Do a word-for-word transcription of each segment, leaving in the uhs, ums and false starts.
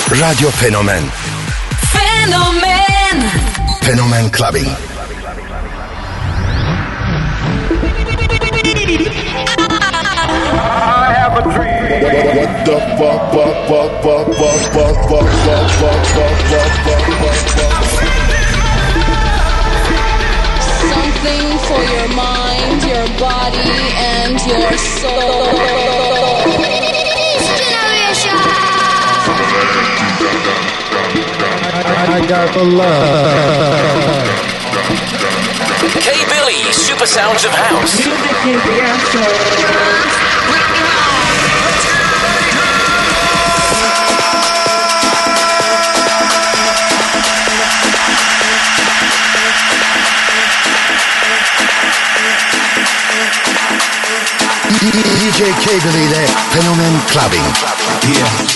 Radyo Fenomen. Fenomen. Fenomen Clubbing. I have a dream. What the fuck, fuck, fuck, fuck, fuck, fuck, fuck, fuck, fuck, fuck, fuck, fuck, fuck. Something for your mind, your body, and your soul. I got the love. K-Billy, Super Sounds of House. Music is the answer. D J K-Billy ile Fenomen Clubbing. Yeah.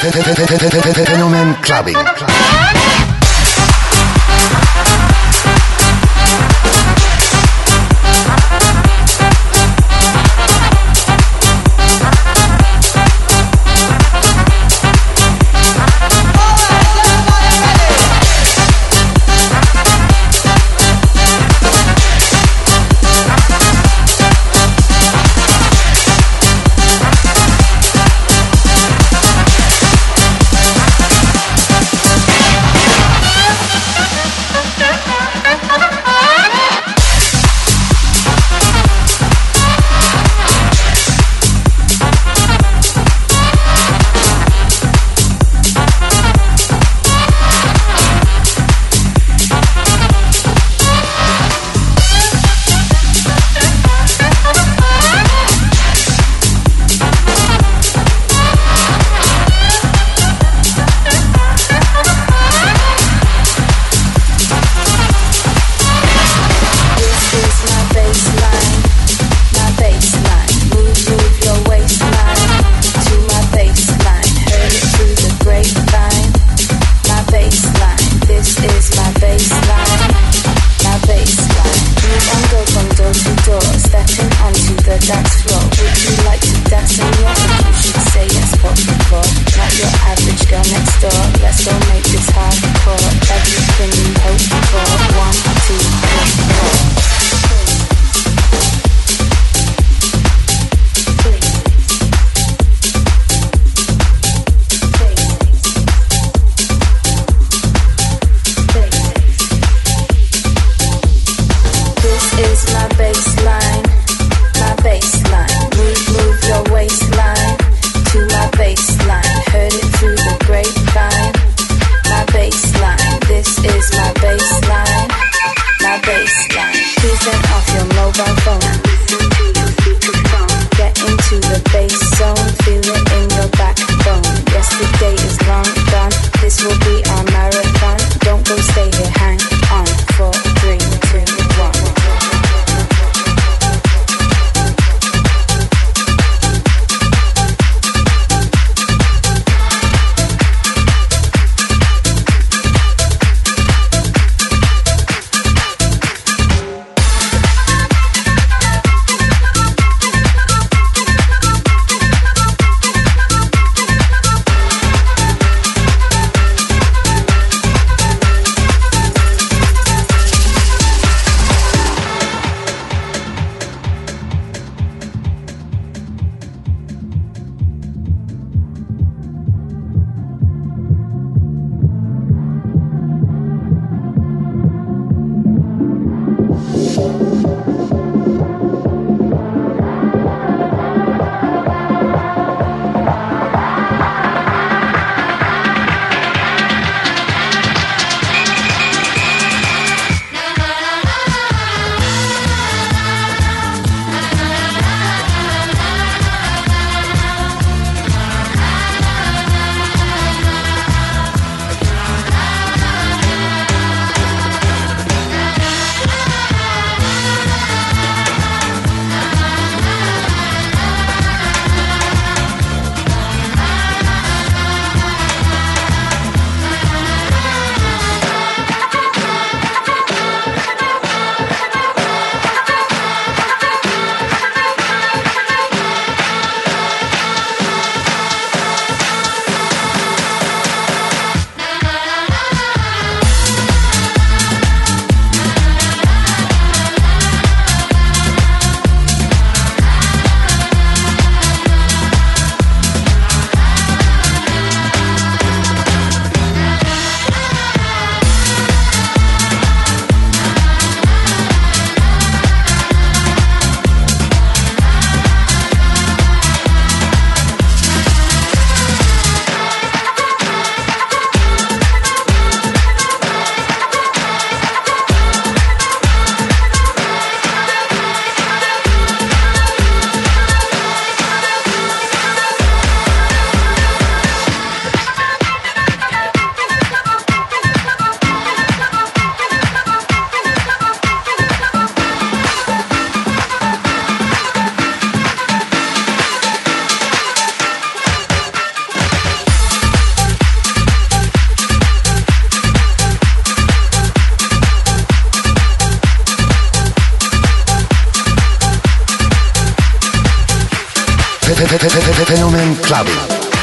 Fenomen Clubbing. Fenomen Clubbing.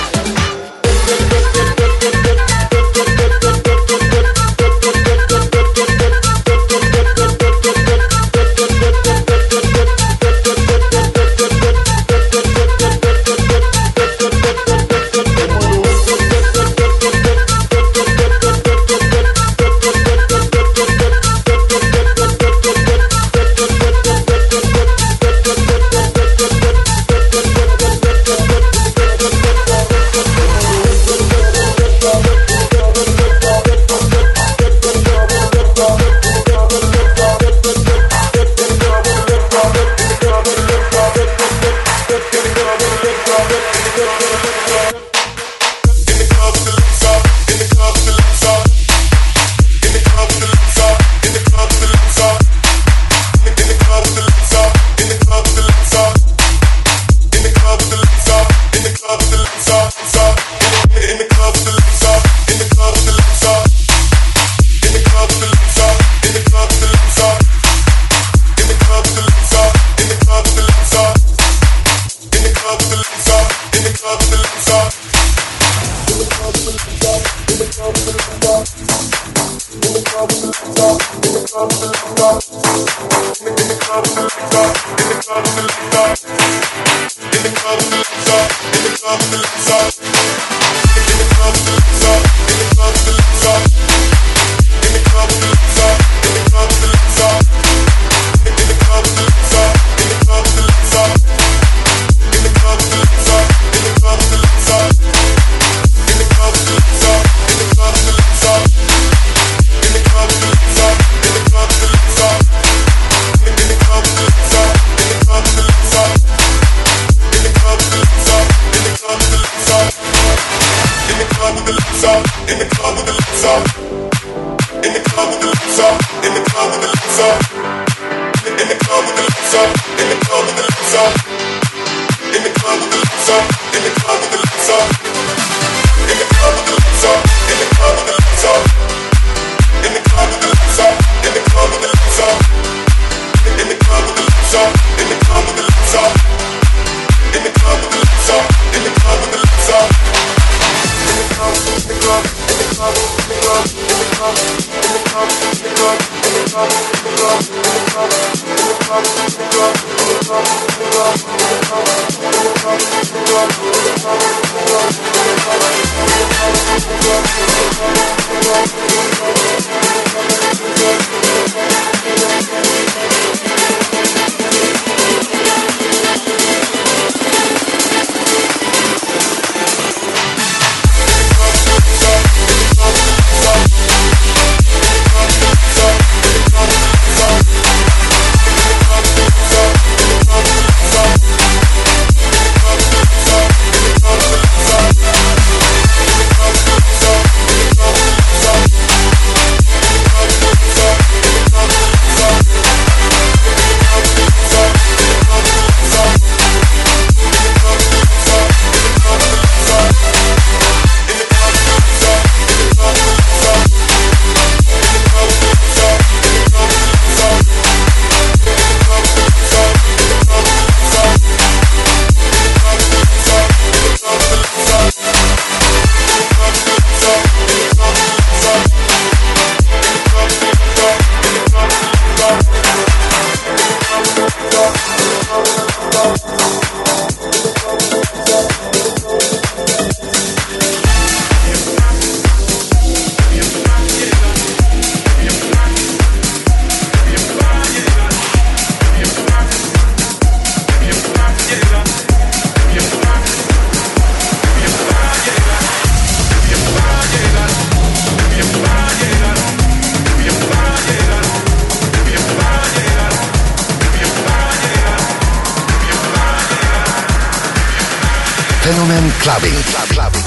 Fenomen Clubbing. Clubbing.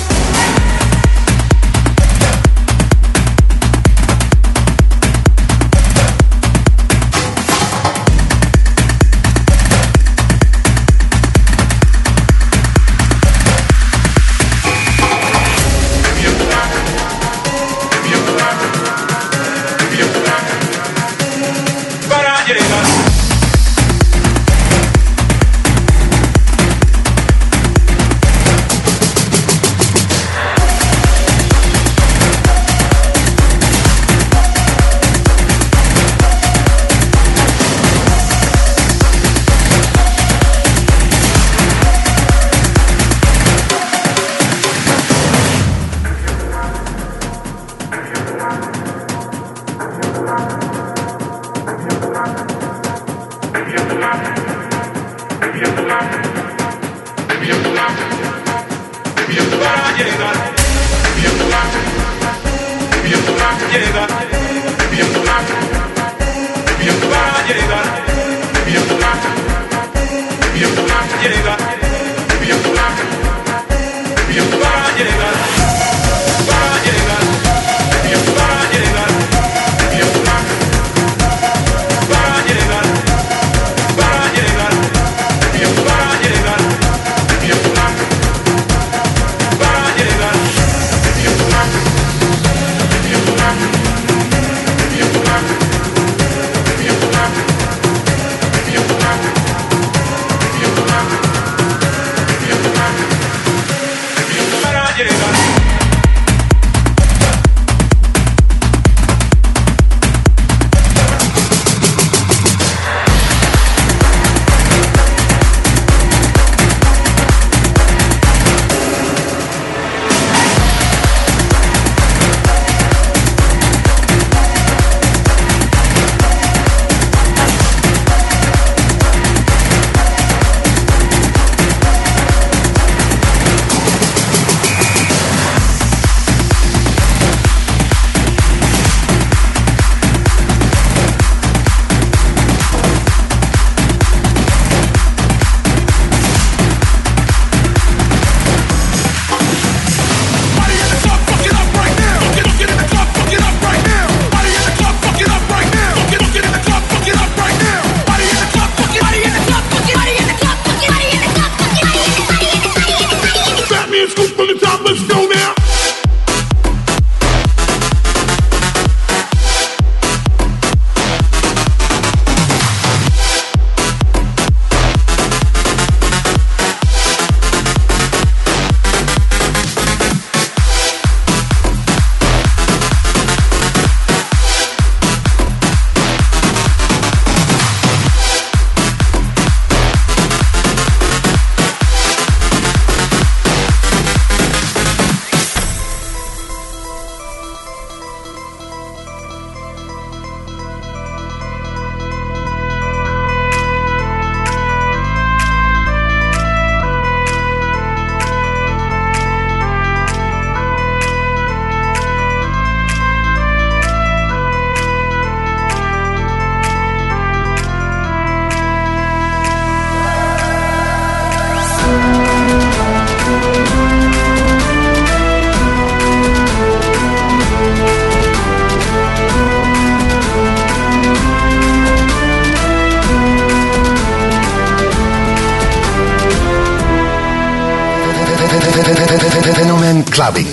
Fenomen Clubbing.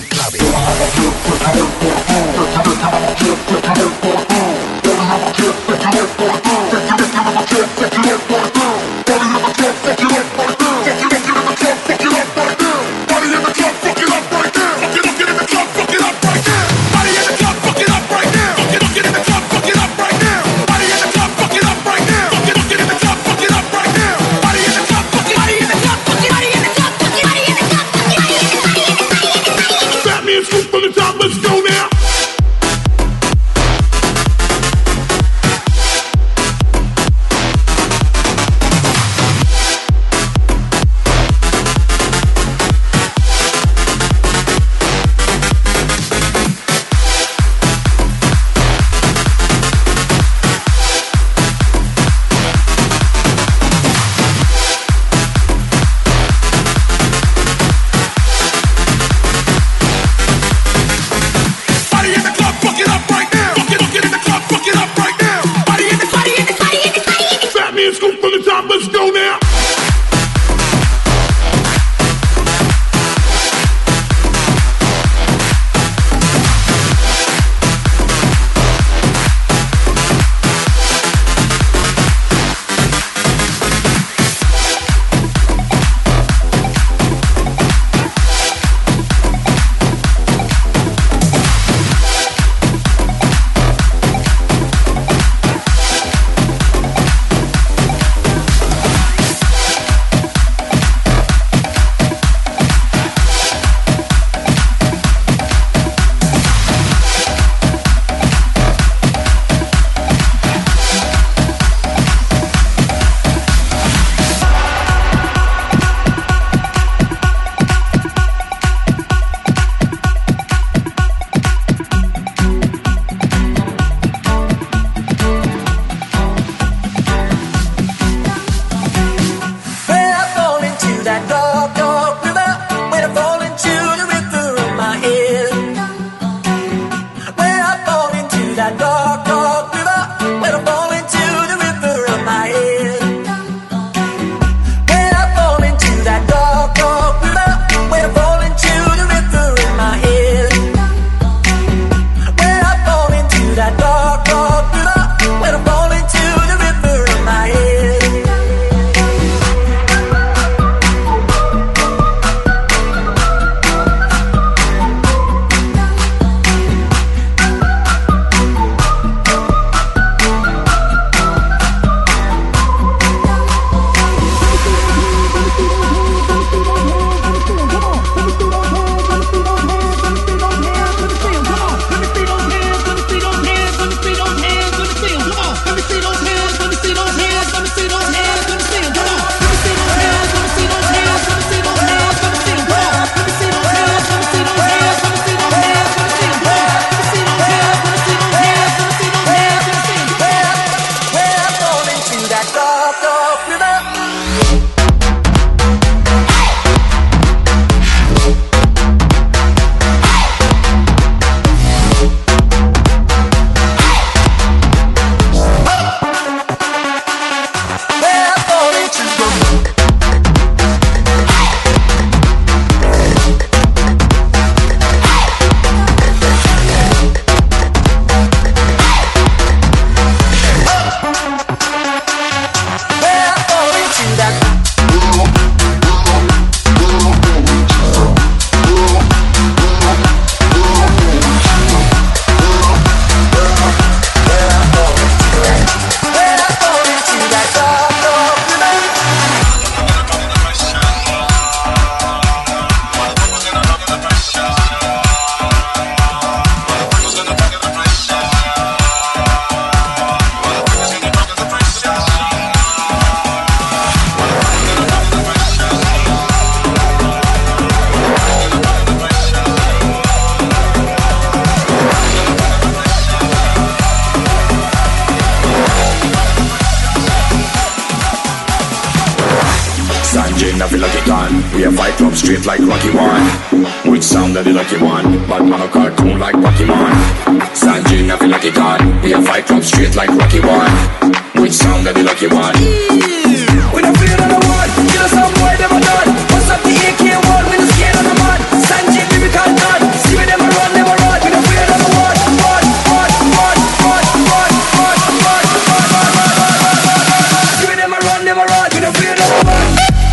We a fight club straight like Rocky One. Which sound of the lucky one? Bad man a cartoon like Pokemon. Sanjay never lucky God. We a fight club straight like Rocky One. Which sound of the lucky one? We don't fear on the one. Kill us some boy never done. What's up the A K one? We don't scared on the man. Sanjay lyrical God. See me never run, never run. We don't fear on the one. One, one, one, one, one, one, one, one, one, one. See me never run, never run. We don't fear on the one.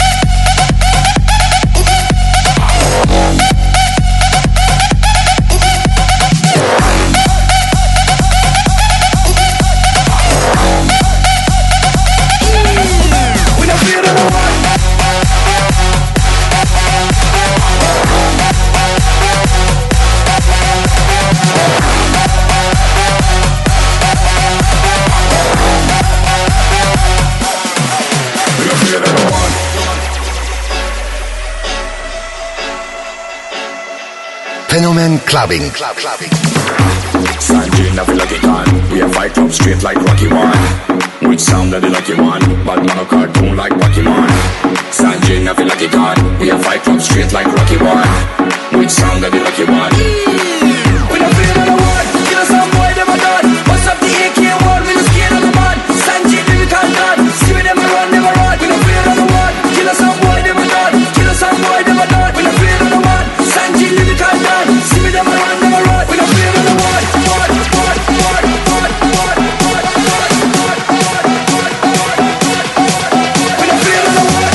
Fenomen Clubbing. Club, clubbing. Sanjay never lucky gun. We a fight club straight like Rocky One. Which sound of the lucky one? Bad man a cartoon like Pokemon. Sanjay never lucky gun. We a fight club straight like Rocky One. Which sound of the lucky one? We don't feel on the one. Kill us some boy never done. What's up the A K one? We don't scared on the man. Sanjay lyrical God. See me never run, never run. We don't feel on the one. Kill us some boy never done. Kill us some boy never done. We don't feel on the one. Sanjay lyrical God. See me never run, never run. We don't feel on the one. One, one, one, one, one, one, one, one, one, one. We don't feel on the one.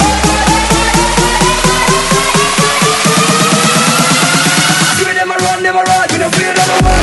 See me never run, never run. We don't feel on the one.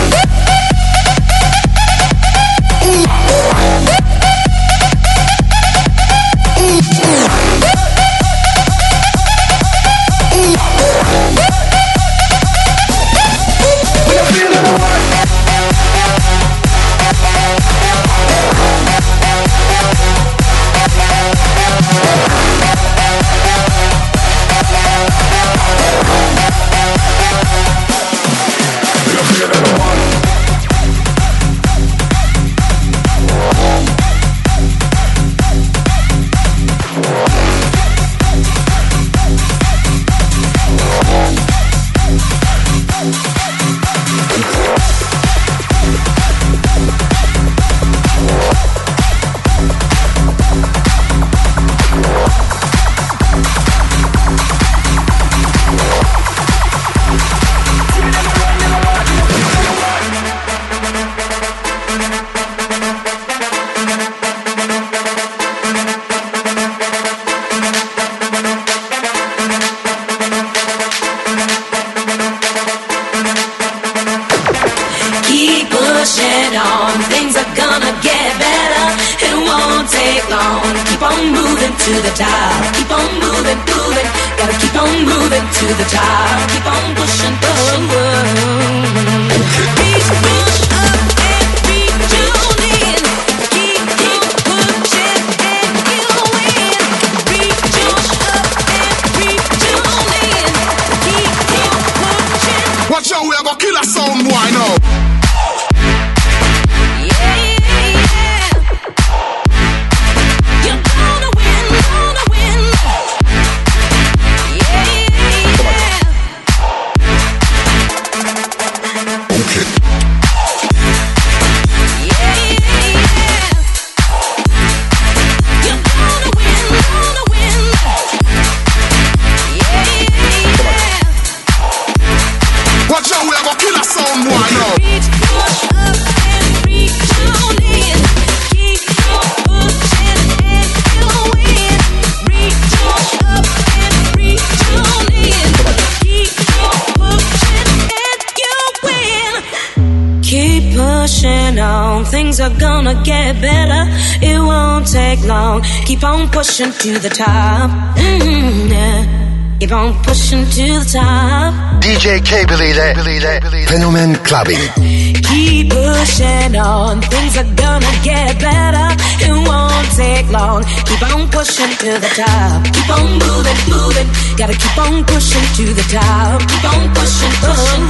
Things are gonna get better. It won't take long. Keep on pushing to the top. Mm-hmm, yeah. Keep on pushing to the top. D J Cable ile Fenomen Clubbing. Keep pushing on. Things are gonna get better. It won't take long. Keep on pushing to the top. Keep on moving, moving. Gotta keep on pushing to the top. Keep on pushing, pushing.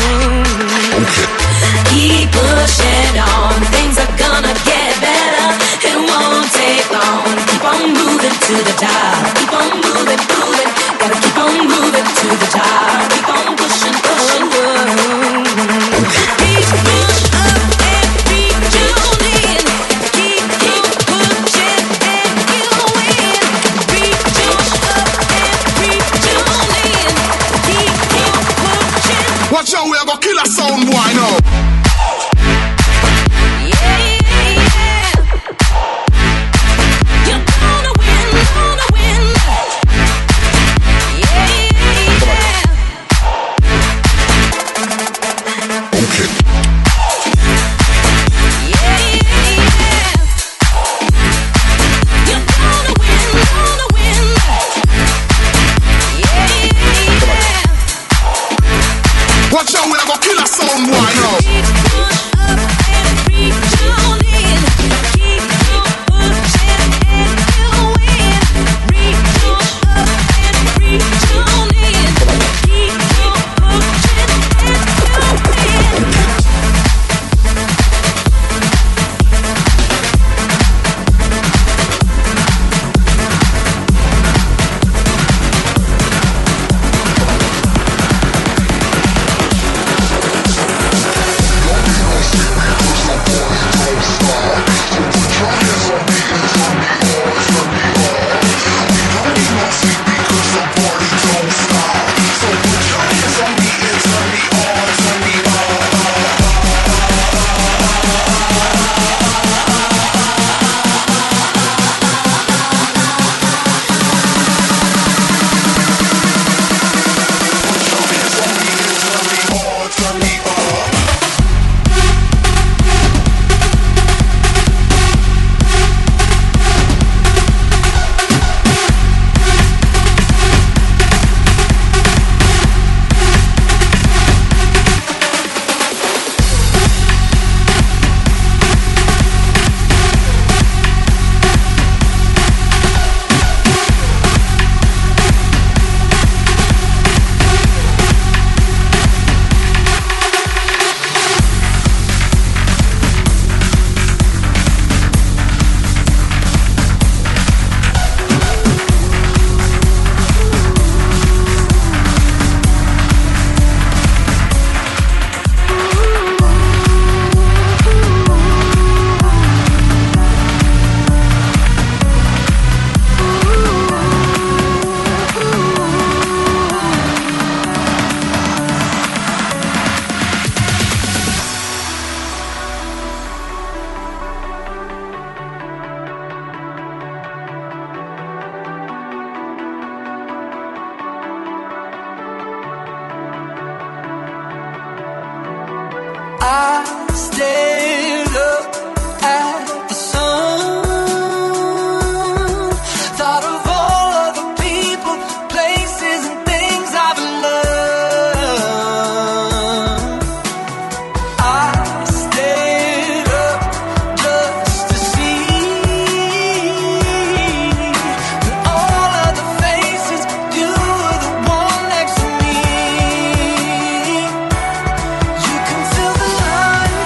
Oh, okay. Keep pushing on. Things are gonna get better. It won't take long. Keep on moving to the top. Keep on moving, moving. Watch out, we are gonna kill a sound boy now. Watch out, we're gonna kill a sound boy now. I stared up at the sun, thought of all of the people, places and things I've loved. I stared up just to see that all of the faces, you were the one next to me. You can tell the line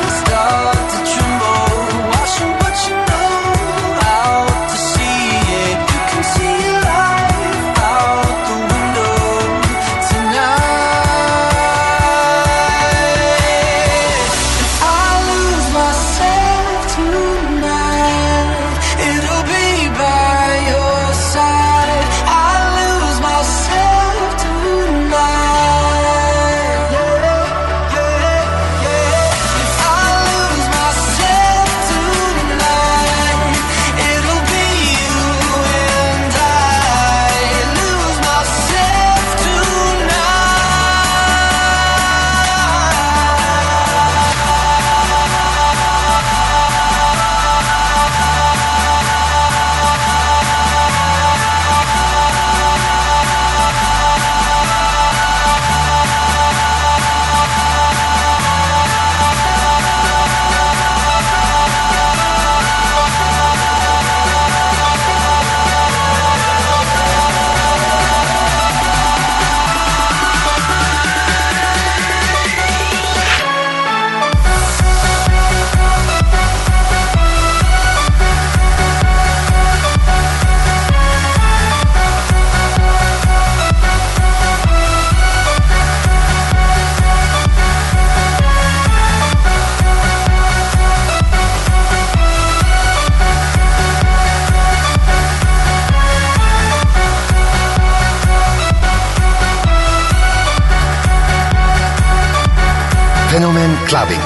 Fenomen Clubbing.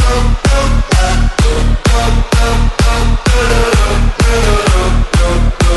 Go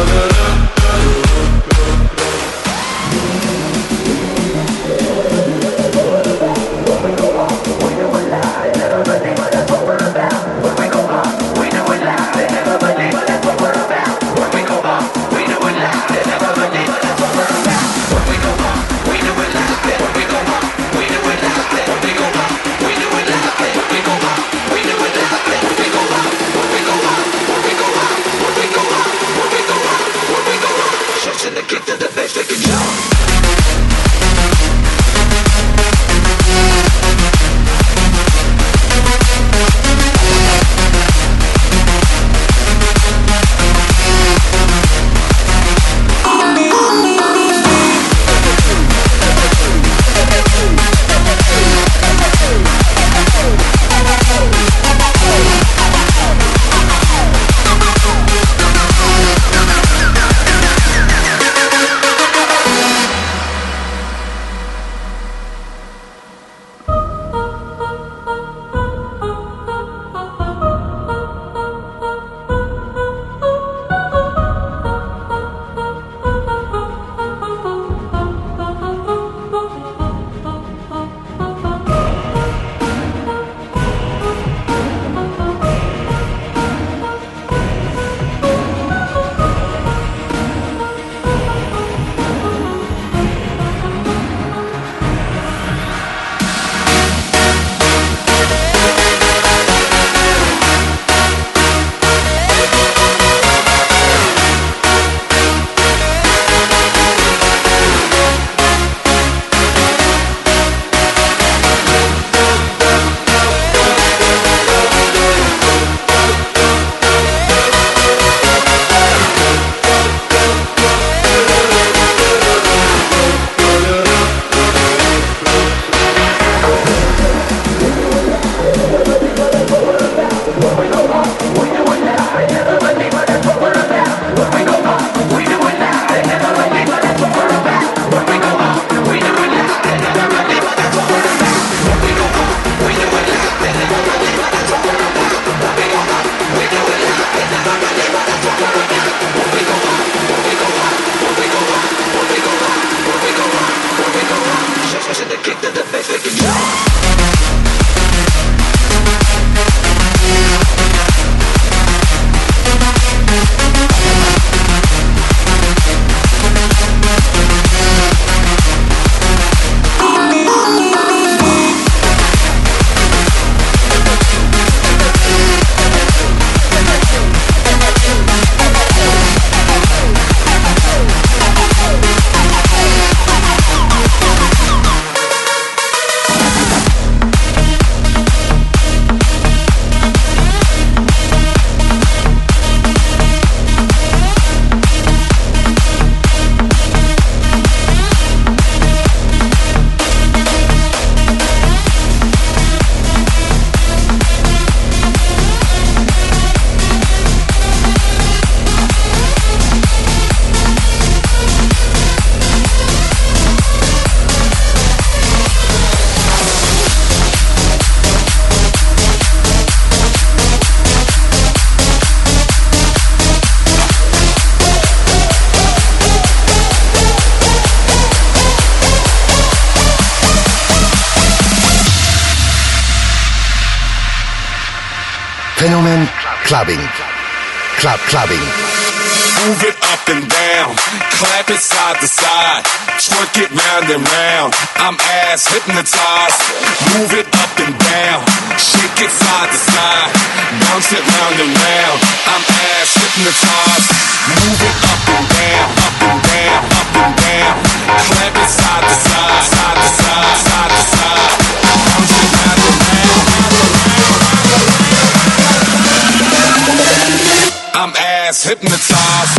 Fenomen Clubbing. Club Clubbing. Move it up and down, clap it side to side, twerk it round and round. I'm ass hypnotized. Move it up and down, shake it side to side, bounce it round and round. I'm ass hypnotized. Move it up and down, up and down, up and down, clap it side to side, side to side, side to side, bounce it round and round, round and round. I'm ass hypnotized.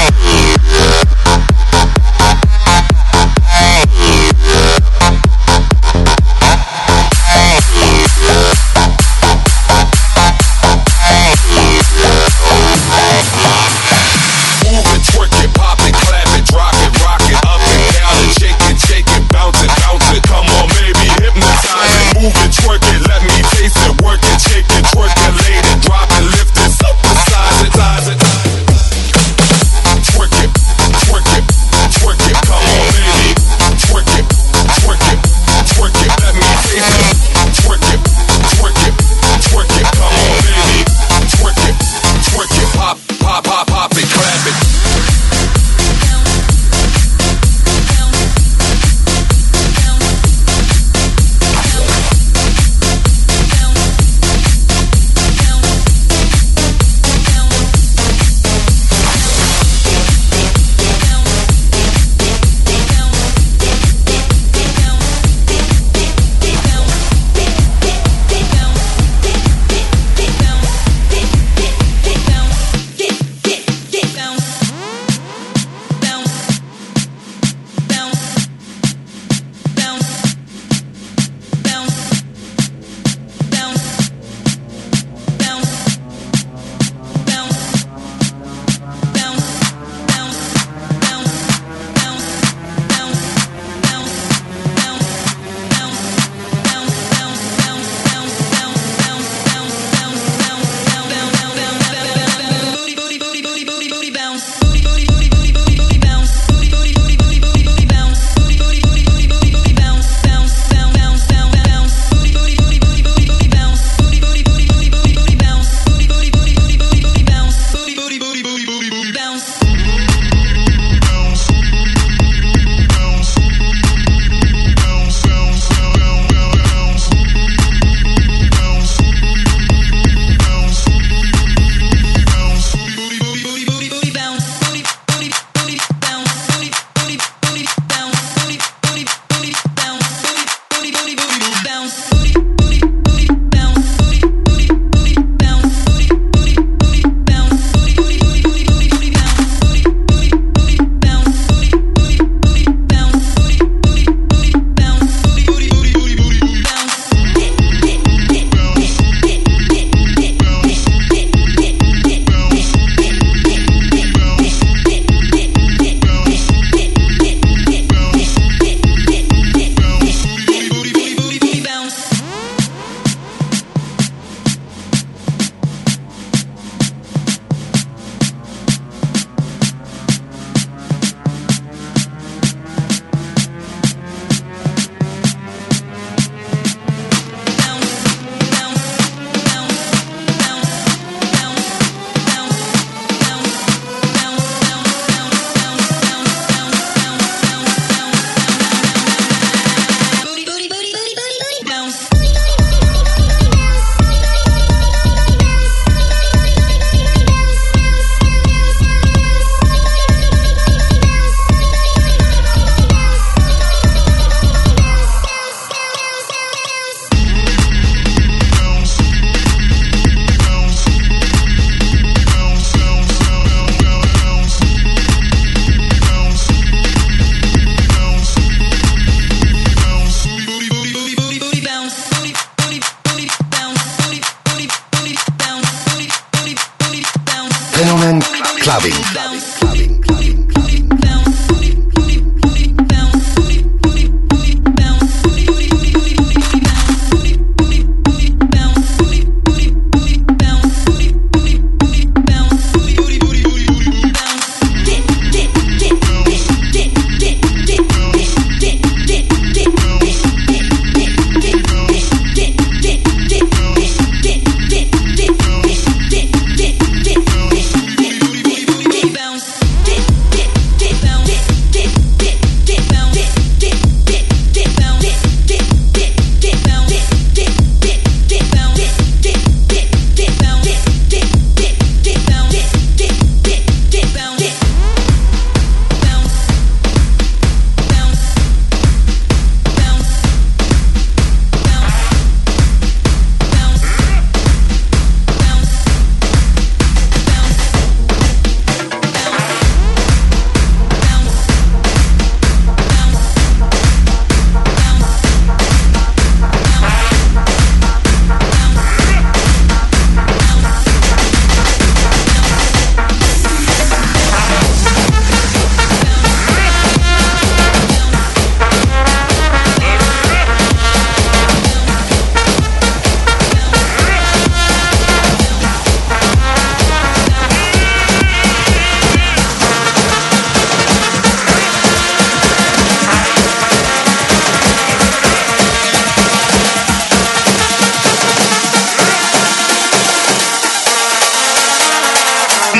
Fenomen Clubbing.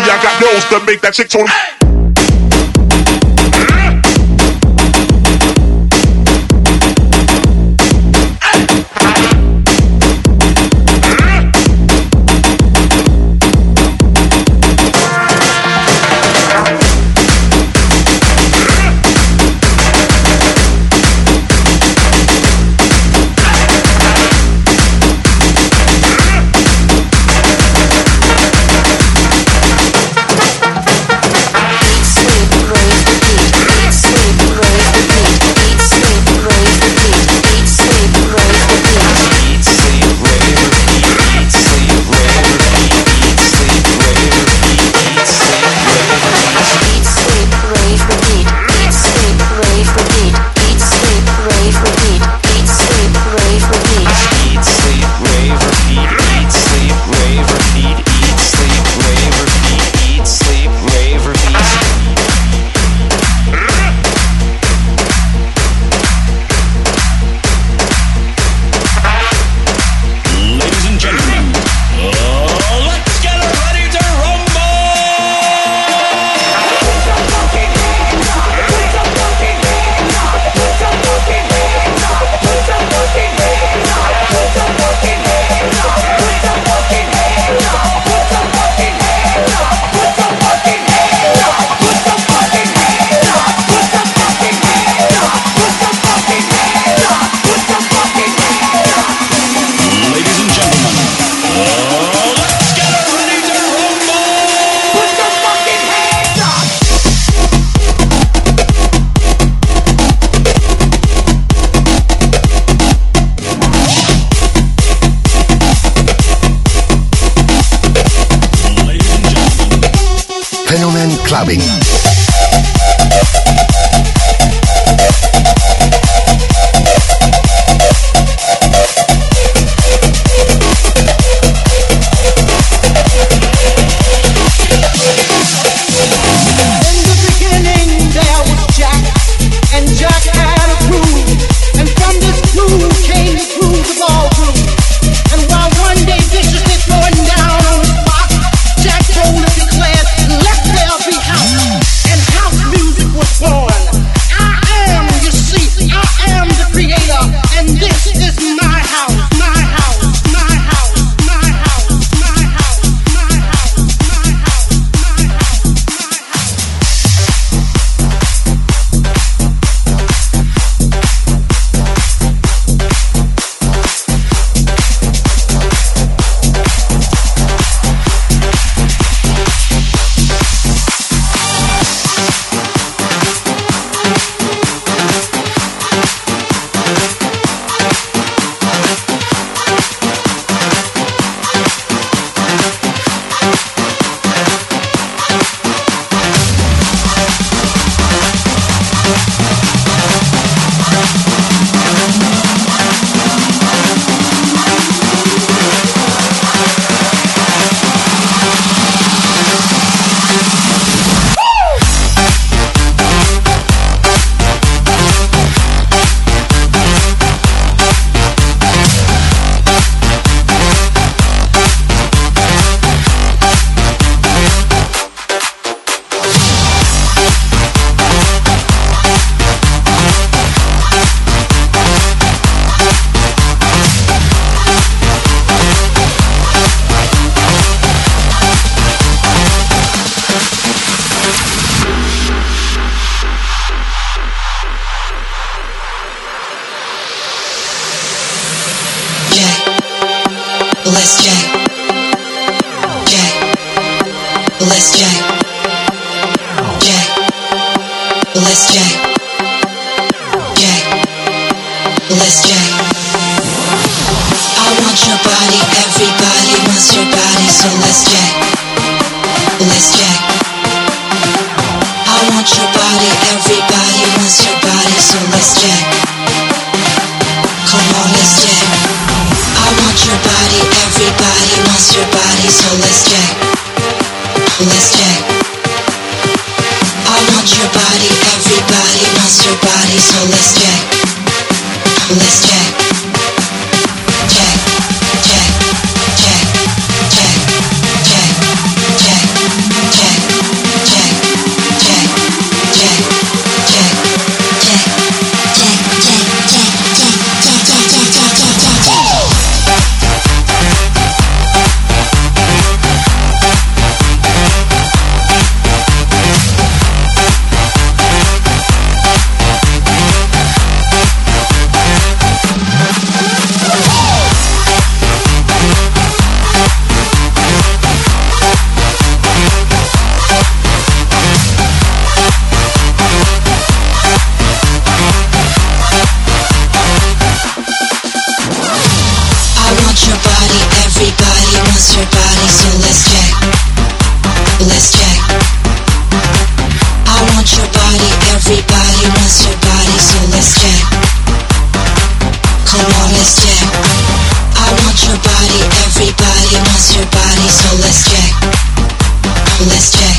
I got nose to make that chick tone. Fenomen Clubbing. Let's jack. Jack. Let's jack. Jack. Let's jack. Jack. Let's jack. I want your body, everybody wants your body, so let's jack. Let's jack. I want your body, everybody wants your body, so let's jack. Come on, let's jack. I want your body, everybody wants your body, so let's jack. Let's jack. I want your body, everybody wants your body, so let's jack. Let's jack. Jack, jack, jack, jack, jack, jack, jack. body, everybody wants your body, so let's check. Let's check.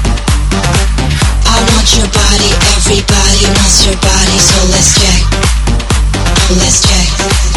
I want your body, everybody wants your body, so let's check. Let's check.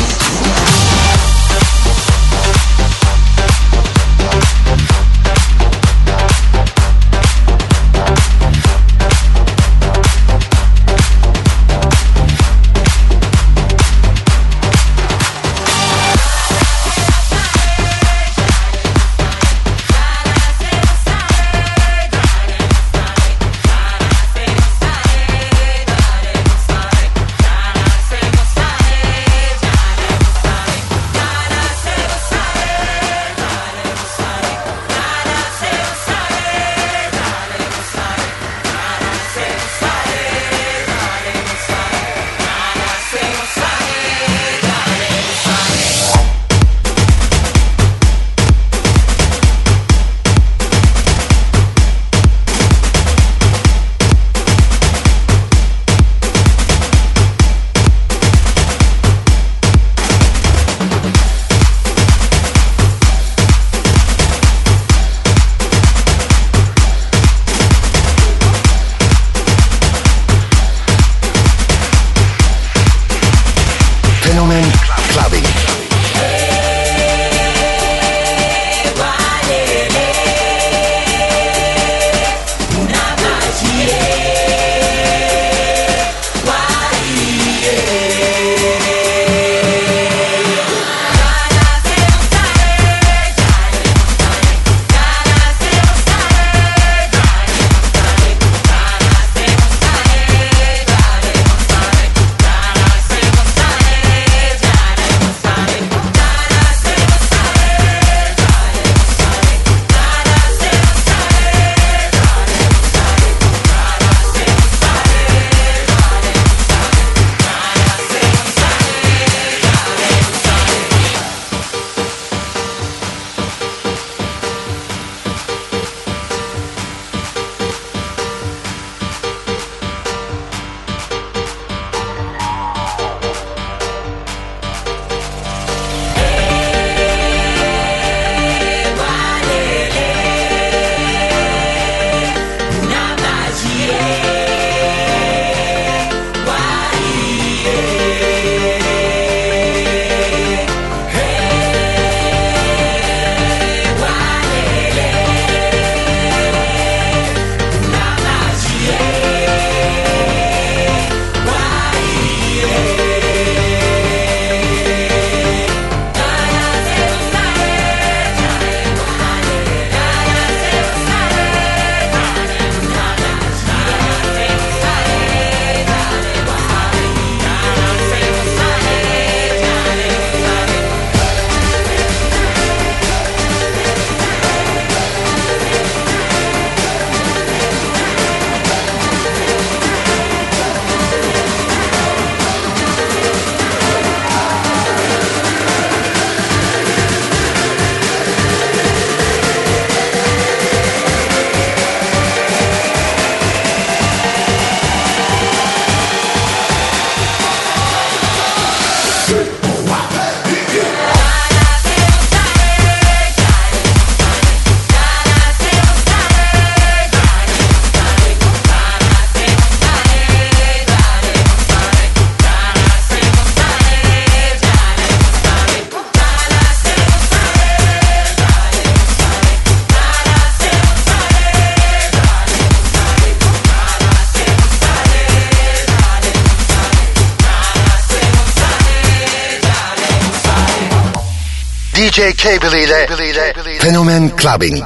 D J Cable ile Fenomen Clubbing.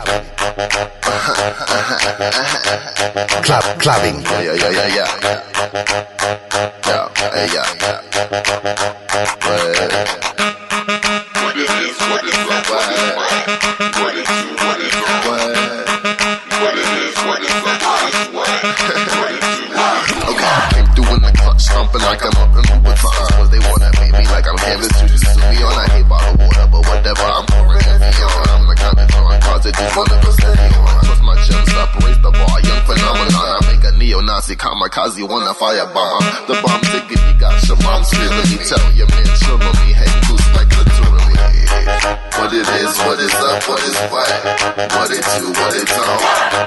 Club Clubbing. Yeah, yeah, yeah, yeah. Yeah, hey, yeah, yeah. What is this? What is that? What is what? What is this? What is that? What? What is this? What is that? What? What is this? Okay, I came through in the clutch, stomping like I'm up in Louboutins. Cause they wanna pay me like I'm Candace Juice. To be on, I hate bottled water, but whatever, I'm pouring heavy on. I'm the kind of drawing cards that just wanna go steady on. Trust my gems up, raise the bar, young phenomenon. I make a neo-Nazi kamikaze, wanna firebomb. The bomb ticket, you got your mom feeling me. Tell your man, show me, hey, loose like literally. What it is, what is up, what is what? What it do, what it don't?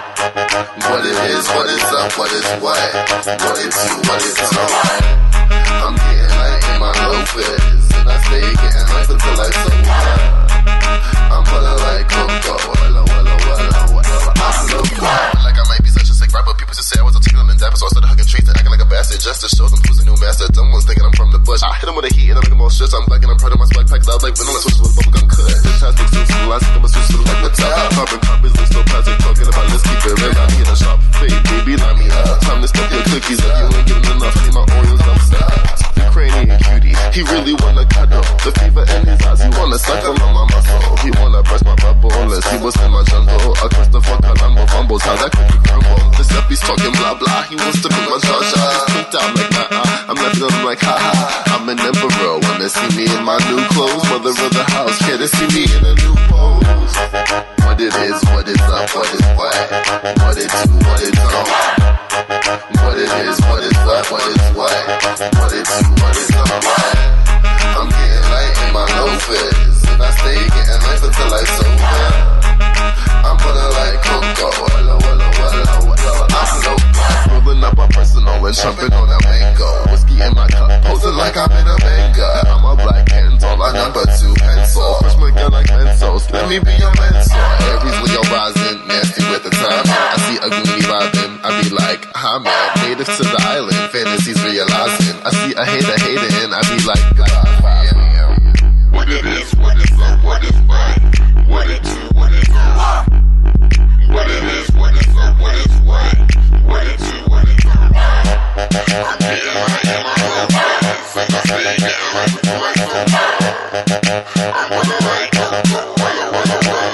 What it is, what is up, what is what? What it do, what it don't? I'm getting light in my Lopez, and I stay getting life until I so high. I'm pulling like Coco, wella, wella, wella, wella. I'm so quiet, like I might be such a sick rapper. People just say I was a tequila and dapper, so I started hugging trees and acting like a bastard just to show them who's the new master. Dumb ones thinking I'm from the bush. I hit them with a heat and I make them all shit. I'm black and I'm proud of my swag pack. I was like vanilla switches with bubblegum cut. This has been too slow. I think I'm a switch to like what's up. Carbon copies, look so plastic. Talking about let's keep it real. I need a sharp fade, baby, line me up. Time to step your cookies up. You ain't getting enough. I need my Oreos upset. Ukrainian cutie, he really wanna cuddle. The fever in his eyes, he wanna suckle on my muscle. He wanna brush my bubble, unless he was in my jungle. A Christopher Columbo fumbles, how that cookie crumble. This up, he's talking blah blah. He wants to be my Jaja. He's pinked out like nah uh. I'm laughing at him like ha ha. I'm an emperor when they see me in my new clothes. Mother of the house, can't they see me in a new pose? What it is, what is up, what is what? What it do, what it don't? What it is, what is what, what is what? What it do, what it don't? I'm getting light in my Lopez, and I stay getting life until I sober. I'm putting like Coco, wella, wella, wella, wella. I'm so bad. Rolling up my personal and jumping on that mango. Whiskey in my cup, posing like I'm in a manga. I'm a black handle, a number two pencil. Freshman girl like pencils, let me be your mentor. Aries Leo rising, nasty with the time. I see a goonie vibing, I be like, hi man, native to the island, fantasies realizing. I see a hater hating, I be like, goodbye. What it is, what is up, what is what? What it do, what it don't? What it is, what is up, what is what? What it do, what it don't? I'm getting right in my Lopez, and I stay getting right until I so high. I'm gonna like Coco, wella, wella, wella.